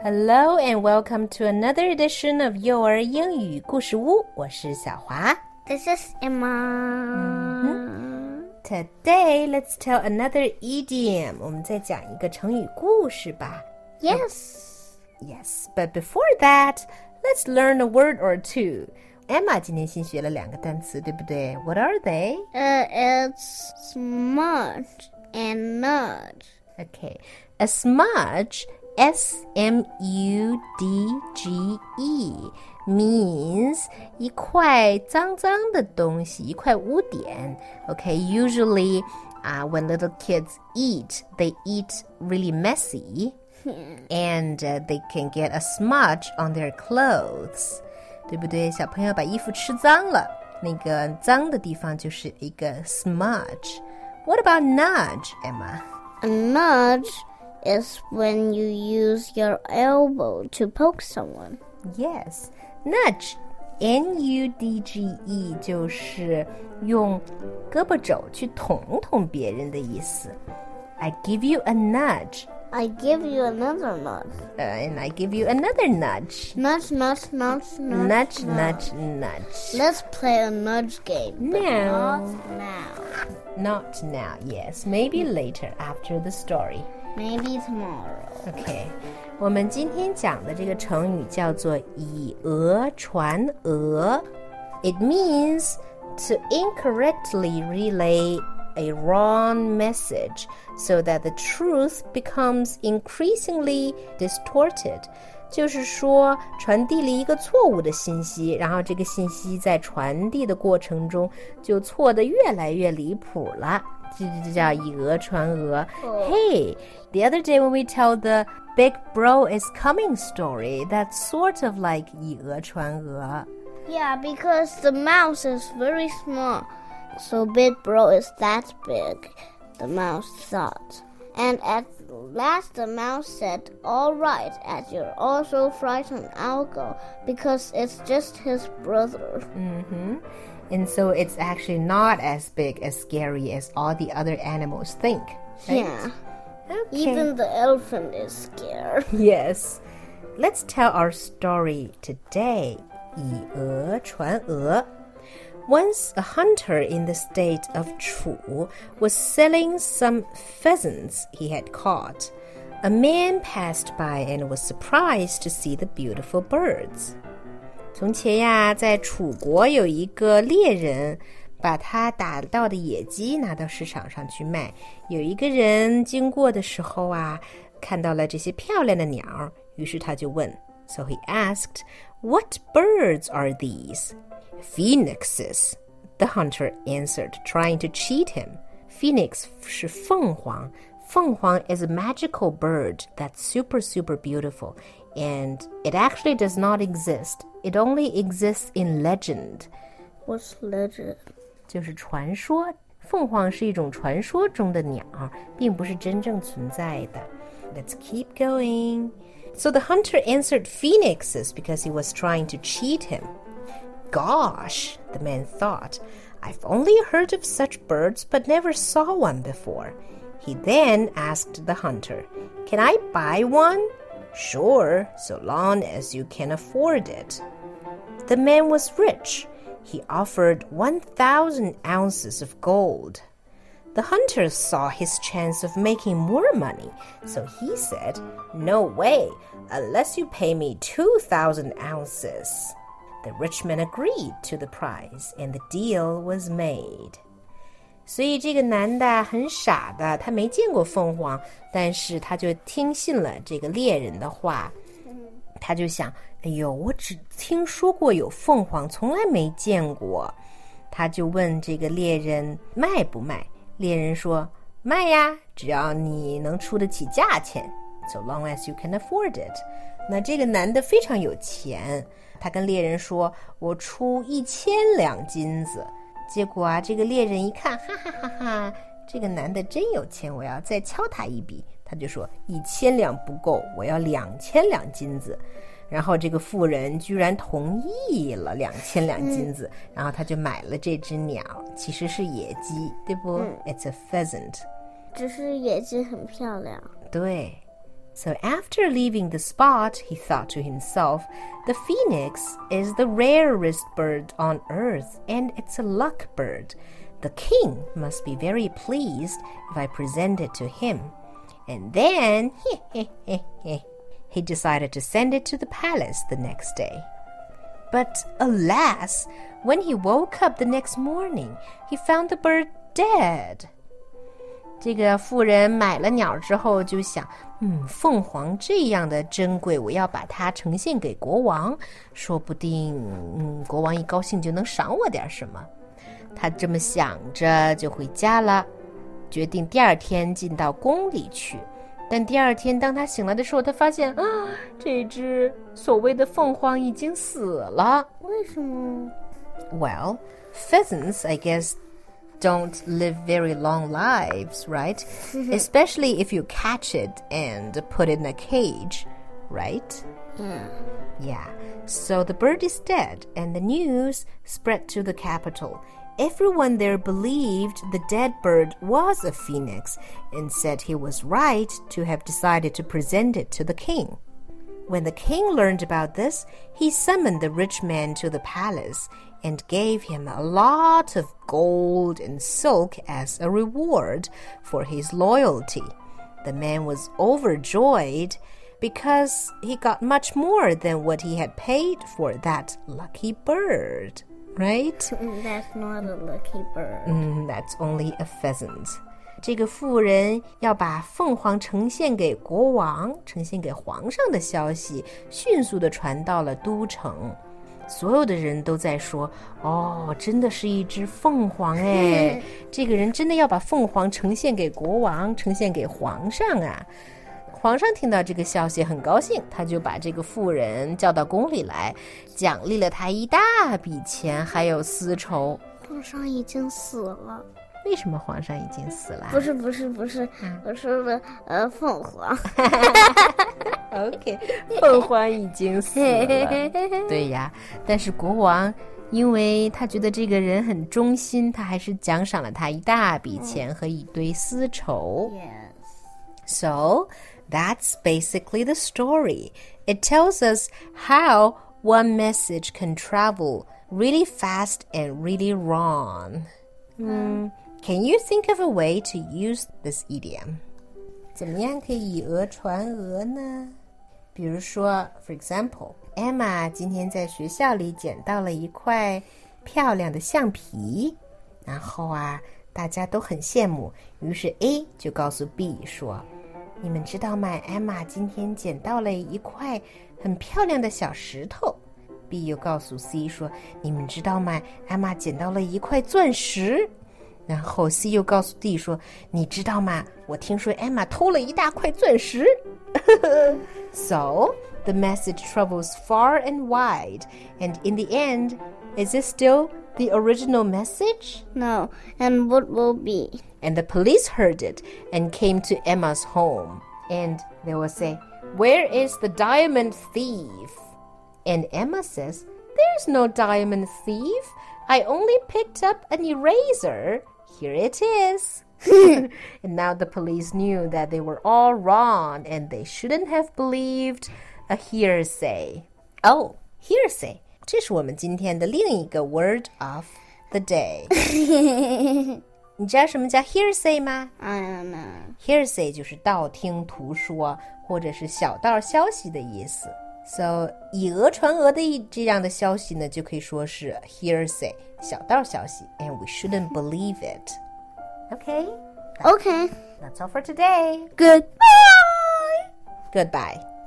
Hello and welcome to another edition of 幼儿英语故事屋。我是小华。 This is Emma.Today, let's tell another idiom. 我们再讲一个成语故事吧。 Yes, but before that, let's learn a word or two. Emma 今天新学了2个单词，对不对？ What are they? It's smudge and nudge. Okay, a smudge, S-M-U-D-G-E, means 一块脏脏的东西，一块污点。Okay, usually when little kids eat, they eat really messy, and they can get a smudge on their clothes. 对不对？小朋友把衣服吃脏了，那个脏的地方就是一个 smudge. What about nudge, Emma? A nudge is when you use your elbow to poke someone. Yes, nudge, N-U-D-G-E 就是用胳膊肘去捅捅别人的意思。I give you a nudge. I give you another nudge. And I give you another nudge. Nudge, nudge, nudge, nudge. Nudge, nudge, nudge. Let's play a nudge game. But No. Not now. Not now, yes. Maybe later after the story. Maybe tomorrow. Okay. 我们今天讲的这个成语叫做以讹传讹。It means to incorrectly relay a wrong message so that the truth becomes increasingly distorted. 就是说传递了一个错误的信息，然后这个信息在传递的过程中就错得越来越离谱了，这叫以讹传讹。Hey, the other day when we tell the big bro is coming story, that's sort of like 以讹传讹。 Yeah, because the mouse is very small. So Big Bro is that big, the mouse thought. And at last the mouse said, "All right, as you're all so frightened, I'll go, because it's just his brother." And so it's actually not as big, as scary as all the other animals think. Right? Yeah. Okay. Even the elephant is scared. Yes. Let's tell our story today. 以讹传讹. Once a hunter in the state of Chu was selling some pheasants he had caught. A man passed by and was surprised to see the beautiful birds. 从前呀，在楚国有一个猎人，把他打到的野鸡拿到市场上去卖。有一个人经过的时候啊，看到了这些漂亮的鸟，于是他就问。So he asked, "What birds are these?" "Phoenixes," the hunter answered, trying to cheat him. Phoenix 是凤凰。凤凰 is a magical bird that's super, super beautiful, and it actually does not exist. It only exists in legend. What's legend? 就是传说。凤凰是一种传说中的鸟，并不是真正存在的。Let's keep going. So the hunter answered phoenixes because he was trying to cheat him. Gosh, the man thought, I've only heard of such birds but never saw one before. He then asked the hunter, Can I buy one? Sure, so long as you can afford it. The man was rich. He offered 1,000 ounces of gold. The hunter saw his chance of making more money, so he said, No way, unless you pay me 2,000 ounces. The rich man agreed to the price, and the deal was made. 所以这个男的很傻的，他没见过凤凰，但是他就听信了这个猎人的话。他就想，哎呦，我只听说过有凤凰，从来没见过。他就问这个猎人卖不卖。猎人说，卖呀，只要你能出得起价钱。So long as you can afford it. 那这个男的非常有钱，他跟猎人说，我出1000两金子。结果啊，这个猎人一看，哈哈哈哈，这个男的真有钱，我要再敲他一笔。他就说1000两不够，我要2000两金子。然后这个妇人居然同意了2000两金子，然后他就买了这只鸟，其实是野鸡，对不？It's a pheasant. 只是野鸡很漂亮。 对。 So after leaving the spot, he thought to himself, the phoenix is the rarest bird on earth, and it's a luck bird. The king must be very pleased if I present it to him. And then, he decided to send it to the palace the next day. But alas, when he woke up the next morning, he found the bird dead. 这个妇人买了鸟之后就想，凤凰这样的珍贵，我要把它呈现给国王，说不定，国王一高兴就能赏我点什么。他这么想着就回家了，决定第二天进到宫里去。但第二天当他醒来的时候，他发现这只所谓的凤凰已经死了。 为什么？ Well, pheasants, I guess, don't live very long lives, right? Especially if you catch it and put it in a cage, right? Yeah. So the bird is dead, and the news spread to the capital. Everyone there believed the dead bird was a phoenix and said he was right to have decided to present it to the king. When the king learned about this, he summoned the rich man to the palace and gave him a lot of gold and silk as a reward for his loyalty. The man was overjoyed because he got much more than what he had paid for that lucky bird, right? That's not a lucky bird. That's only a pheasant. 这个妇人要把凤凰呈现给国王，呈现给皇上的消息迅速地传到了都城。所有的人都在说，真的是一只凤凰哎，这个人真的要把凤凰呈现给国王，呈现给皇上啊。皇上听到这个消息很高兴，他就把这个妇人叫到宫里来，奖励了他一大笔钱，还有丝绸。 皇上已经死了。 为什么皇上已经死了？ 不是，我说的凤凰。 OK， 凤凰已经死了。对呀，但是国王因为他觉得这个人很忠心，他还是奖赏了他一大笔钱和一堆丝绸。 Yes. So that's basically the story. It tells us how one message can travel really fast and really wrong. Can you think of a way to use this idiom? 怎么样可以以讹传讹呢？比如说 for example, Emma 今天在学校里捡到了一块漂亮的橡皮，然后大家都很羡慕，于是 A 就告诉 B 说，你们知道吗？ Emma 今天捡到了一块很漂亮的小石头。 B 又告诉 C 说，你们知道吗？ Emma 捡到了一块钻石。然后 C 又告诉 D 说，你知道吗？我听说 Emma 偷了一大块钻石。So, the message travels far and wide, and in the end, is it still the original message? No, and what will be? And the police heard it and came to Emma's home. And they will say, where is the diamond thief? And Emma says, there's no diamond thief. I only picked up an eraser. Here it is. And now the police knew that they were all wrong and they shouldn't have believed a hearsay. Oh, hearsay. 这是我们今天的另一个 word of the day. 你知道什么叫 hearsay 吗？ I don't know. Hearsay 就是道听途说或者是小道消息的意思。So 以讹传讹的这样的消息呢，就可以说是 hearsay 小道消息 and we shouldn't believe it. Okay? Okay. That's all for today. Goodbye. Goodbye.